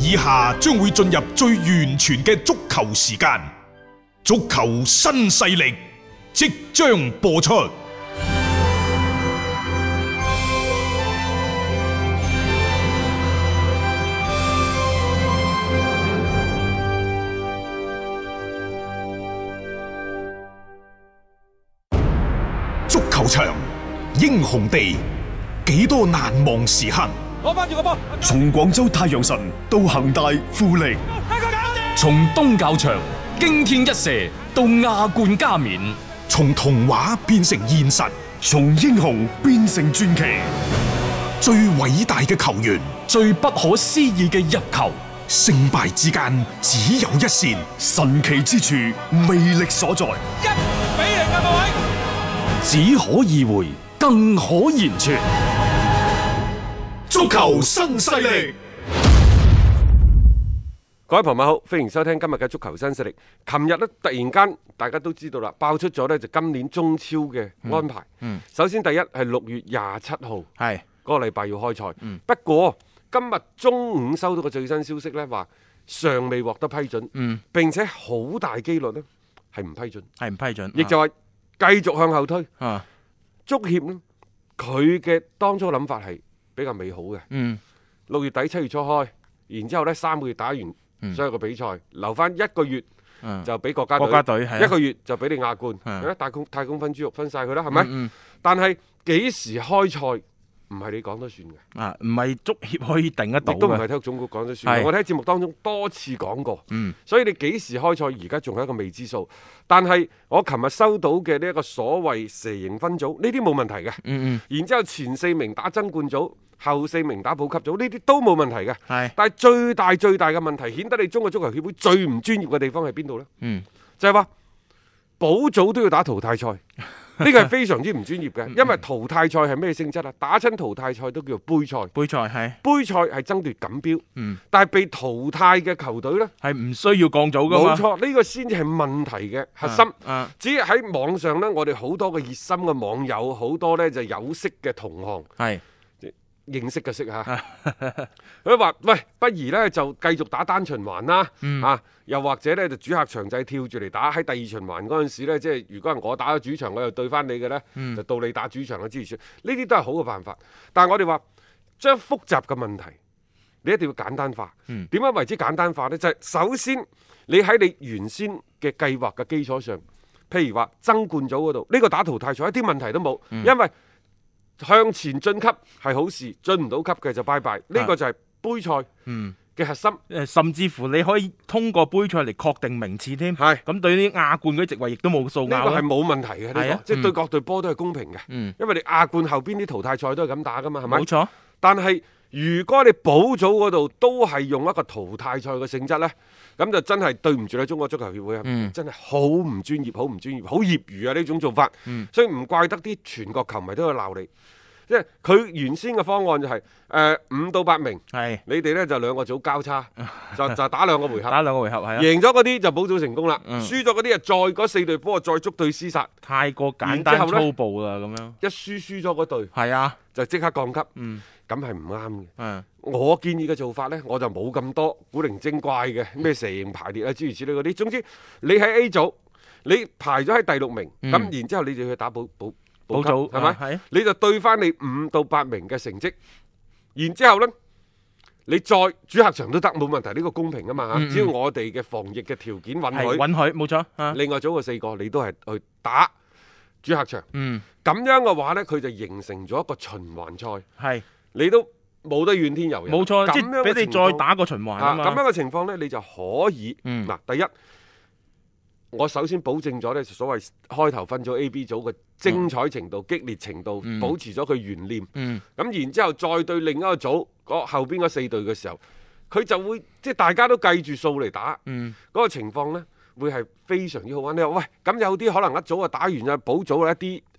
以下將會進入最完全嘅足球時間，足球新勢力即將播出。足球場，英雄地，幾多難忘時刻。 攞翻住個波， 從廣州太陽神到恒大富力， 從東較場驚天一射到亞冠加冕， 從童話變成現實， 從英雄變成傳奇。 最偉大嘅球員， 最不可思議嘅入球， 勝敗之間只有一線， 神奇之處魅力所在。 1-0啊各位！ 只可意會，更可言傳。 足球新勢力， 各位朋友好，歡迎收聽今日嘅足球新勢力。琴日呢，突然間大家都知道啦，爆出咗呢就今年中超嘅安排。首先第一係6月27號，係嗰個禮拜要開賽。不過今日中午收到個最新消息呢，話尚未獲得批准，並且好大機率呢係唔批准，亦就話繼續向後推。足協呢，佢嘅當初諗法係比較美好嘅。6月底7月初開，然之後呢3個月打完所有嘅比賽，留翻1個月就俾國家隊，1個月就俾你亞冠，太空分豬肉分晒佢啦，係咪？但係幾時開賽唔係你講得算嘅， 唔係足協可以定得到嘅， 亦都唔係體育總局講得算。我哋喺節目當中多次講過，所以你幾時開賽而家仲係一個未知數。但係我琴日收到嘅呢一個所謂蛇形分組，呢啲冇問題嘅。然之後前4名打爭冠組，後4名打保級組，呢啲都冇問題嘅。但係最大嘅問題，顯得你中國足球協會最唔專業嘅地方係邊度呢？就係話保組都要打淘汰賽。呢個係非常之唔專業嘅，因為淘汰賽係咩性質啊？打親淘汰賽都叫做杯賽，杯賽係爭奪錦標，但係被淘汰嘅球隊呢，係唔需要降組㗎嘛。冇錯，呢個先至係問題嘅核心。至於喺網上呢，我哋好多嘅熱心嘅網友，好多呢就有識嘅同行，認識嘅識嚇，佢話：喂，不如呢就繼續打單循環啦，又或者呢就主客場制跳住嚟打。喺第2循環嗰陣時呢，即係如果係我打咗主場，我又對翻你嘅呢，就到你打主場嘅之餘，呢啲都係好嘅辦法。但係我哋話將複雜嘅問題，你一定要簡單化。點樣為之簡單化呢？就係首先你喺你原先嘅計劃嘅基礎上，譬如話爭冠組嗰度，呢個打淘汰賽一啲問題都冇，因為向前晉級係好事，進唔到級嘅就拜拜。呢個就係杯賽嘅核心。 甚至乎你可以通過杯賽嚟確定名次添。咁對於亞冠嗰啲席位亦都冇數拗。 呢個係冇問題嘅，呢個即係對各隊波都係公平嘅。因為你亞冠後邊啲淘汰賽都係咁打噶嘛，係咪？冇錯。但係如果你保組嗰度都係用一個淘汰賽嘅性質呢，咁就真係對唔住你中國足球協會啊！真係好唔專業，好唔專業，好業餘啊！呢種做法，所以唔怪得啲全國球迷都喺度鬧你。即係佢原先嘅方案就係5到8名，你哋呢就2個組交叉，就打2個回合，贏咗嗰啲就保組成功啦，輸咗嗰啲啊再嗰4隊波再捉對廝殺， 太過簡單粗暴啦咁樣。 一輸咗嗰隊，就即刻降級，咁係唔啱嘅。我建議嘅做法呢，我就冇咁多古靈精怪嘅咩蛇形排列啊諸如此類嗰啲。總之你喺 A 組，你排咗喺第6名，咁然之後你就去打保組係咪？你就對翻你5到8名嘅成績，然之後呢，你再主客場都得冇問題，呢個公平啊嘛。只要我哋嘅防疫嘅條件允許，冇錯。另外組嘅4個你都係去打主客場，咁樣嘅話呢，佢就形成咗一個循環賽，你都冇得怨天尤人。冇錯，即係俾你再打個循環啊嘛。咁樣嘅情況呢，你就可以嗱，第一。我首先保證咗呢所謂開頭分組 A、B 組嘅精彩程度、激烈程度，保持咗佢懸念。咁然之後再對另一個組後邊嗰4隊嘅時候，佢就會即係大家都計住數嚟打，嗰個情況呢會係非常之好玩。你話喂，咁有啲可能一組啊打完啊補組一啲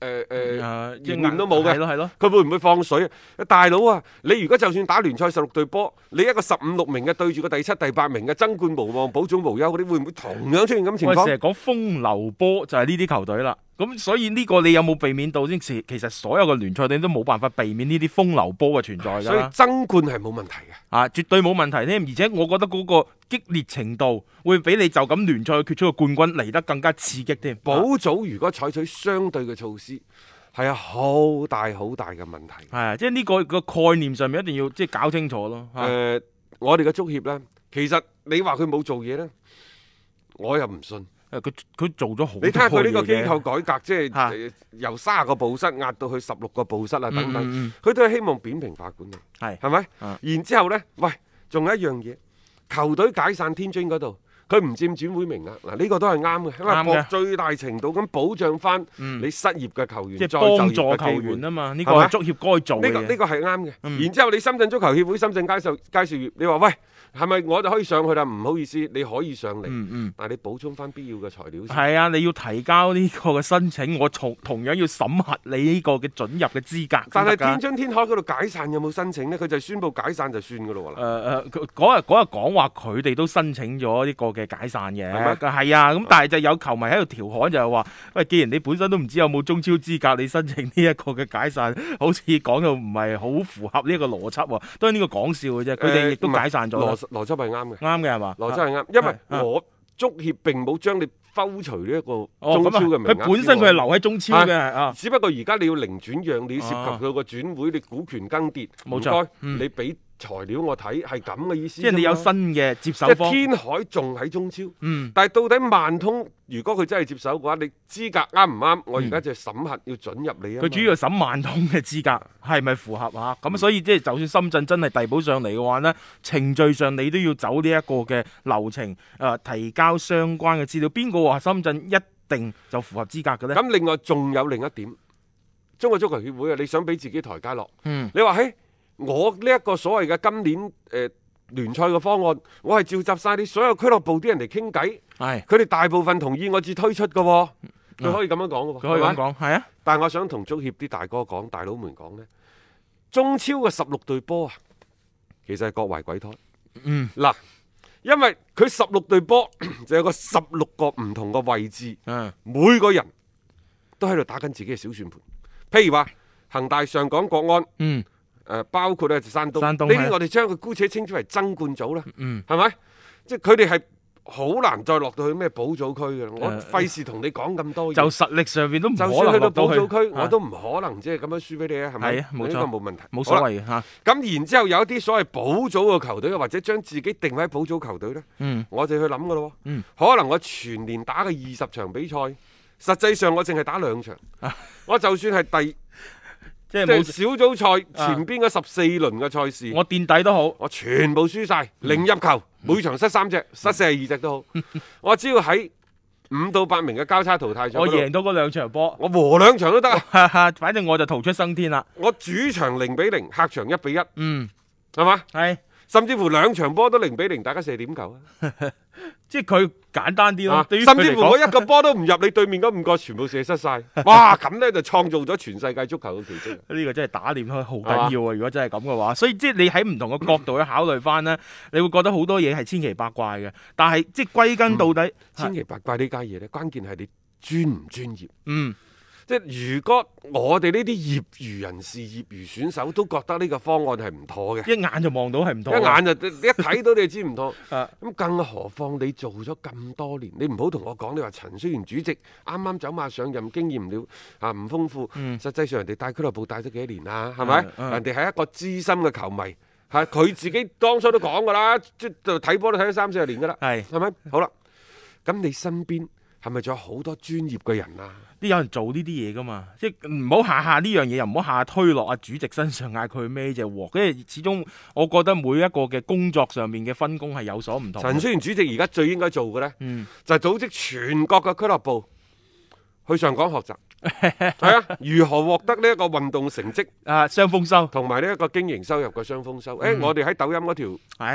經驗都冇嘅， 係咯， 佢會唔會放水啊？大佬啊，你如果就算打聯賽16隊波，你一個15、6名嘅對住個第7、第8名嘅爭冠無望、保組無憂嗰啲，會唔會同樣出現咁情況？ 我成日講風流波就係呢啲球隊啦。咁所以呢個你有冇避免到先？其實所有嘅聯賽你都冇辦法避免呢啲風流波嘅存在㗎。 所以爭冠係冇問題嘅， 啊，絕對冇問題添。而且我覺得嗰個激烈程度會比你就咁聯賽決出個冠軍嚟得更加刺激添。 保組如果採取相對嘅措施，係有好大好大嘅問題。 係啊，即係呢個概念上面一定要即係搞清楚咯。 我哋嘅足協呢，其實你話佢冇做嘢呢，我又唔信。 佢做咗好多嘢。 你睇下佢呢個機構改革，即係由30個部室壓到去16個部室啊等等，佢都係希望扁平化管理，係咪？然之後呢，喂，仲有一樣嘢，球隊解散天津嗰度，佢唔佔轉會名額，嗱呢個都係啱嘅，因為最大程度咁保障翻你失業嘅球員， 即係幫助球員啊嘛，呢個係足協該做嘅。 呢個係啱嘅。然之後你深圳足球協會、深圳佳兆業，你話喂，係咪我就可以上去啦？唔好意思，你可以上嚟，但係你補充翻必要嘅材料先。 係啊，你要提交呢個嘅申請，我同樣要審核你呢個嘅准入嘅資格。 但係天津天海嗰度解散有冇申請呢？佢就宣布解散就算噶咯喎。 嗰日講話佢哋都申請咗呢個嘅解散嘅，係啊。咁但係就有球迷喺度調侃就係話，喂，既然你本身都唔知有冇中超資格，你申請呢一個嘅解散，好似講到唔係好符合呢一個邏輯喎。都係呢個講笑嘅啫。佢哋亦都解散咗。 邏輯係啱嘅， 啱嘅係嘛？ 邏輯係啱，因為我足協並冇將你剖除呢一個中超嘅名額。 佢本身佢係留喺中超嘅， 只不過而家你要零轉讓，你要涉及佢個轉會，你股權更迭， 冇錯， 你俾材料我睇係咁嘅意思。 即係你有新嘅接手方。 即係天海仲喺中超，但係到底萬通如果佢真係接手嘅話，你資格啱唔啱？我而家就審核要准入你啊。 佢主要審萬通嘅資格係咪符合啊？咁所以即係就算深圳真係遞補上嚟嘅話呢，程序上你都要走呢一個嘅流程，提交相關嘅資料。邊個話深圳一定就符合資格嘅呢？ 咁另外仲有另一點，中國足球協會啊，你想俾自己台階落，你話嘿，我呢一個所謂嘅今年聯賽嘅方案，我係召集晒你所有俱樂部啲人嚟傾偈，佢哋大部分同意我至推出嘅，佢可以咁樣講嘅， 佢可以咁講，係啊。 但係我想同足協啲大哥講、大佬們講呢，中超嘅16隊波啊，其實係各懷鬼胎。嗱，因為佢16隊波就有個16個唔同嘅位置，每個人都喺度打緊自己嘅小算盤。譬如話恒大、上港、國安。包括咧山東，呢啲我哋將佢姑且稱之為爭冠組啦，係咪？即係佢哋係好難再落到去咩保組區嘅，我費事同你講咁多嘢。 就實力上邊都唔可能就算去到保組區，我都唔可能即係咁樣輸俾你啊，係咪？ 冇錯， 呢個冇問題， 冇所謂嘅嚇。 咁然之後有一啲所謂保組嘅球隊，或者將自己定位喺保組球隊咧，我哋去諗嘅咯。可能我全年打嘅20場比賽，實際上我淨係打2場，我就算係即係小組賽前邊嗰14輪嘅賽事， 我墊底都好， 我全部輸晒，0入球，每場失3隻，失42隻都好，我只要喺5到8名嘅交叉淘汰賽， 我贏到嗰2場波， 我和2場都得啊， 反正我就逃出生天啦。 我主場0-0，客場1-1，係嘛？ 係， 甚至乎2場波都0-0，大家射點球啊！ 即係佢簡單啲咯， 甚至乎我一個波都唔入，你對面嗰5個全部射失晒，哇！咁呢就創造咗全世界足球嘅奇蹟。 呢個真係打臉開好緊要啊！如果真係咁嘅話，所以即係你喺唔同嘅角度去考慮翻呢，你會覺得好多嘢係千奇百怪嘅。但係即係歸根到底， 千奇百怪呢家嘢呢，關鍵係你專唔專業。即係如果我哋呢啲業餘人士、業餘選手都覺得呢個方案係唔妥嘅， 一眼就望到係唔妥， 一眼就一睇到你就知唔妥。咁更何況你做咗咁多年，你唔好同我講你話陳戌源主席啱啱走馬上任，經驗了唔豐富。實際上人哋帶俱樂部帶咗幾多年啦，係咪？人哋係一個資深嘅球迷，係佢自己當初都講㗎啦，即係睇波都睇咗30-40年㗎啦，係咪？好啦，咁你身邊係咪仲有好多專業嘅人啊？ 都有人做呢啲嘢噶嘛，即係唔好下下呢樣嘢，又唔好下下推落阿主席身上，嗌佢孭隻鑊。因為始終我覺得每一個嘅工作上面嘅分工係有所唔同。 陳戌源主席而家最應該做嘅呢，就係組織全國嘅俱樂部去上港學習，係啊，如何獲得呢一個運動成績雙豐收， 同埋呢一個經營收入嘅雙豐收。我哋喺抖音嗰條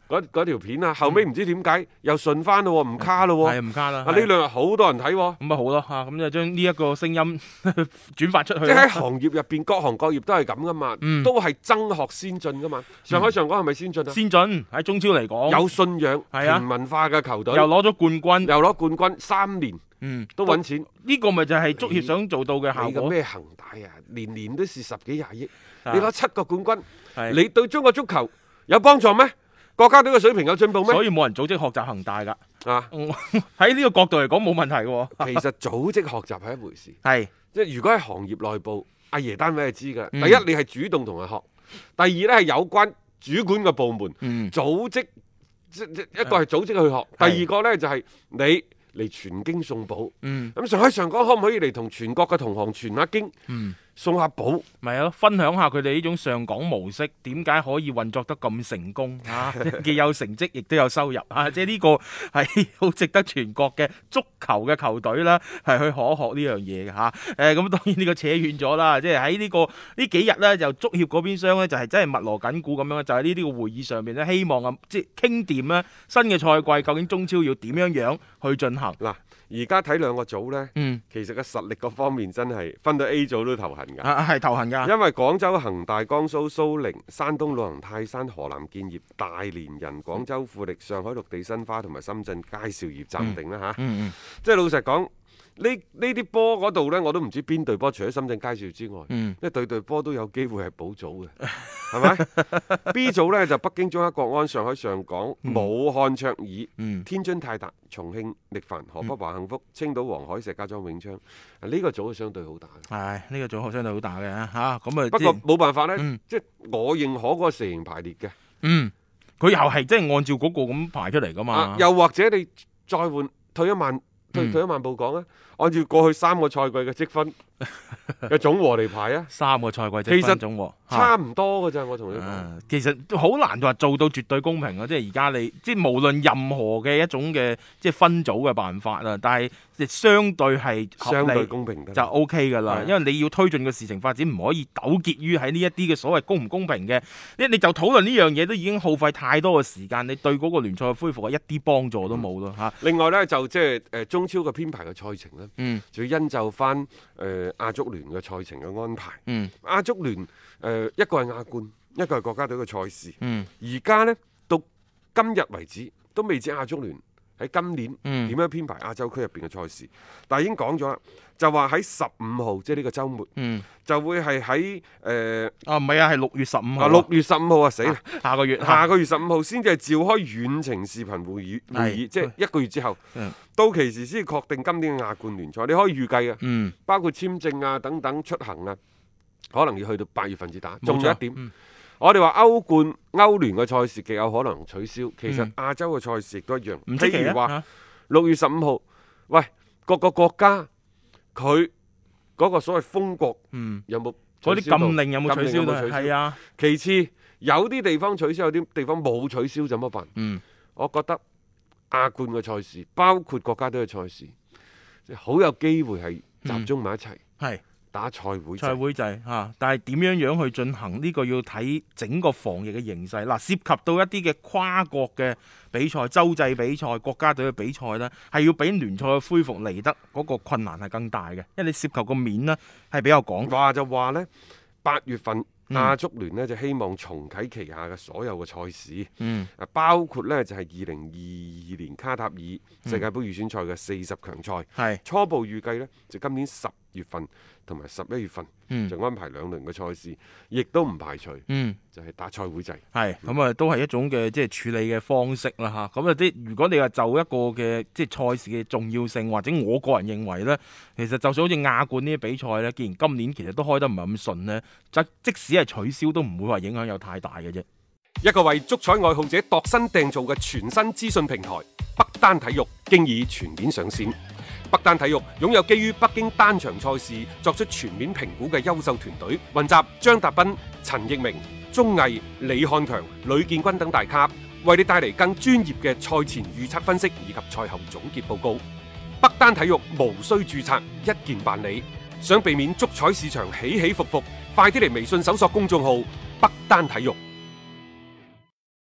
嗰條片啊，後尾唔知點解又順翻咯，唔卡咯， 係唔卡啦。 呢兩日好多人睇， 咁咪好咯嚇，咁就將呢一個聲音轉發出去。 即係喺行業入邊，各行各業都係咁噶嘛，都係爭學先進噶嘛。上海上港係咪先進啊？ 先進喺中超嚟講， 有信仰、平民化嘅球隊， 又攞咗冠軍 3年，都揾錢。 呢個咪就係足協想做到嘅效果。 咩恒大啊，年年都是10幾20億，你攞7個冠軍，你對中國足球有幫助咩？國家隊嘅水平有進步咩？ 所以冇人組織學習恒大㗎。 啊， 喺呢個角度嚟講冇問題嘅。 其實組織學習係一回事， 係即係如果喺行業內部，阿爺單位係知㗎。第一，你係主動同人學；第二咧係有關主管嘅部門組織，一個係組織去學，第二個咧就係你嚟傳經送寶。咁上海上港可唔可以嚟同全國嘅同行傳下經？送下寶， 咪係咯，分享下佢哋呢種上港模式點解可以運作得咁成功啊？既有成績，亦都有收入啊！即係呢個係好值得全國嘅足球嘅球隊啦，係去學呢樣嘢嘅嚇。咁當然呢個扯遠咗啦，即係喺呢幾日咧，就足協嗰邊廂咧就係真係密鑼緊鼓咁樣，就喺呢啲個會議上面咧，希望啊即係傾掂啦，新嘅賽季究竟中超要點樣去進行嗱。 而家睇兩個組呢，其實個實力嗰方面真係分到 A 組都頭痕㗎， 係頭痕㗎。 因為廣州恒大、江蘇蘇寧、山東魯能泰山、河南建業、大連人、廣州富力、上海綠地申花同埋深圳佳兆業暫定啦嚇。即係老實講，呢啲波嗰度呢，我都唔知邊隊波，除咗深圳佳兆業之外，因為隊波都有機會係保組嘅，係咪？B 組呢，就北京中赫國安、上海上港、武漢卓爾、天津泰達、重慶力帆、河北華幸福、青島黃海、石家莊永昌，呢個組相對好大。 係呢個組相對好大嘅嚇，咁啊不過冇辦法呢，即係我認可嗰個蛇形排列嘅。 佢又係即係按照嗰個咁排出嚟噶嘛。 又或者你再換退一萬步講啊，按照過去3個賽季嘅積分嘅總和嚟排啊，3個賽季積分總和差唔多㗎咋，我同你講。 其實都好難話做到絕對公平啊！即係而家你即係無論任何嘅一種嘅即係分組嘅辦法啊，但係相對係相對公平就 OK 㗎啦。因為你要推進個事情發展，唔可以糾結於喺呢一啲嘅所謂公唔公平嘅，你就討論呢樣嘢都已經耗費太多嘅時間，你對嗰個聯賽嘅恢復係一啲幫助都冇咯嚇。 另外呢，就即係中超嘅編排嘅賽程呢，就要因就翻亞足聯嘅賽程嘅安排。亞足聯一個係亞冠，一個係國家隊嘅賽事。而家呢，到今日為止都未知亞足聯喺今年點樣編排亞洲區入邊嘅賽事，但係已經講咗啦，就話喺15號，即係呢個週末，就會係喺唔係啊，係6月15號。 6月15號啊，死啦！ 下個月 15號先至係召開遠程視頻會議，即係1個月之後，到期時先確定今年嘅亞冠聯賽。你可以預計嘅，包括簽證啊等等出行啊，可能要去到8月份至打。仲有一點。我哋話歐冠、歐聯嘅賽事極有可能取消，其實亞洲嘅賽事亦都一樣。譬如話6月15號，喂，各個國家佢嗰個所謂封國有冇嗰啲禁令有冇取消？係啊。 其次有啲地方取消，有啲地方冇取消，怎麼辦？我覺得亞冠嘅賽事，包括國家隊嘅賽事，好有機會係集中埋一齊。係。打賽會制嚇，但係點樣去進行呢個要睇整個防疫嘅形勢。嗱，涉及到一啲嘅跨國嘅比賽、洲際比賽、國家隊嘅比賽呢，係要比聯賽嘅恢復嚟得嗰個困難係更大嘅，因為你涉及個面呢係比較廣。 話就話呢，8月份亞足聯呢就希望重啟旗下嘅所有嘅賽事，包括呢就係2022年卡塔爾世界盃預選賽嘅40強賽，初步預計呢就今年10月份同埋11月份就安排2輪嘅賽事，亦都唔排除就係打賽會制。 係咁啊，都係一種嘅即係處理嘅方式啦嚇。咁啊如果你話就一個嘅即係賽事嘅重要性，或者我個人認為呢，其實就算好似亞冠呢啲比賽呢，既然今年其實都開得唔係咁順呢，即使係取消都唔會話影響有太大嘅啫。 一個為足彩愛好者度身訂造嘅全新資訊平台北單體育，經已全面上線。北單體育擁有基於北京單場賽事作出全面評估嘅優秀團隊，雲集張達斌、陳奕明、鐘毅、李漢強、呂建軍等大咖，為你帶嚟更專業嘅賽前預測分析以及賽後總結報告。北單體育無需註冊，一鍵辦理。想避免足彩市場起起伏伏，快啲嚟微信搜索公眾號北單體育。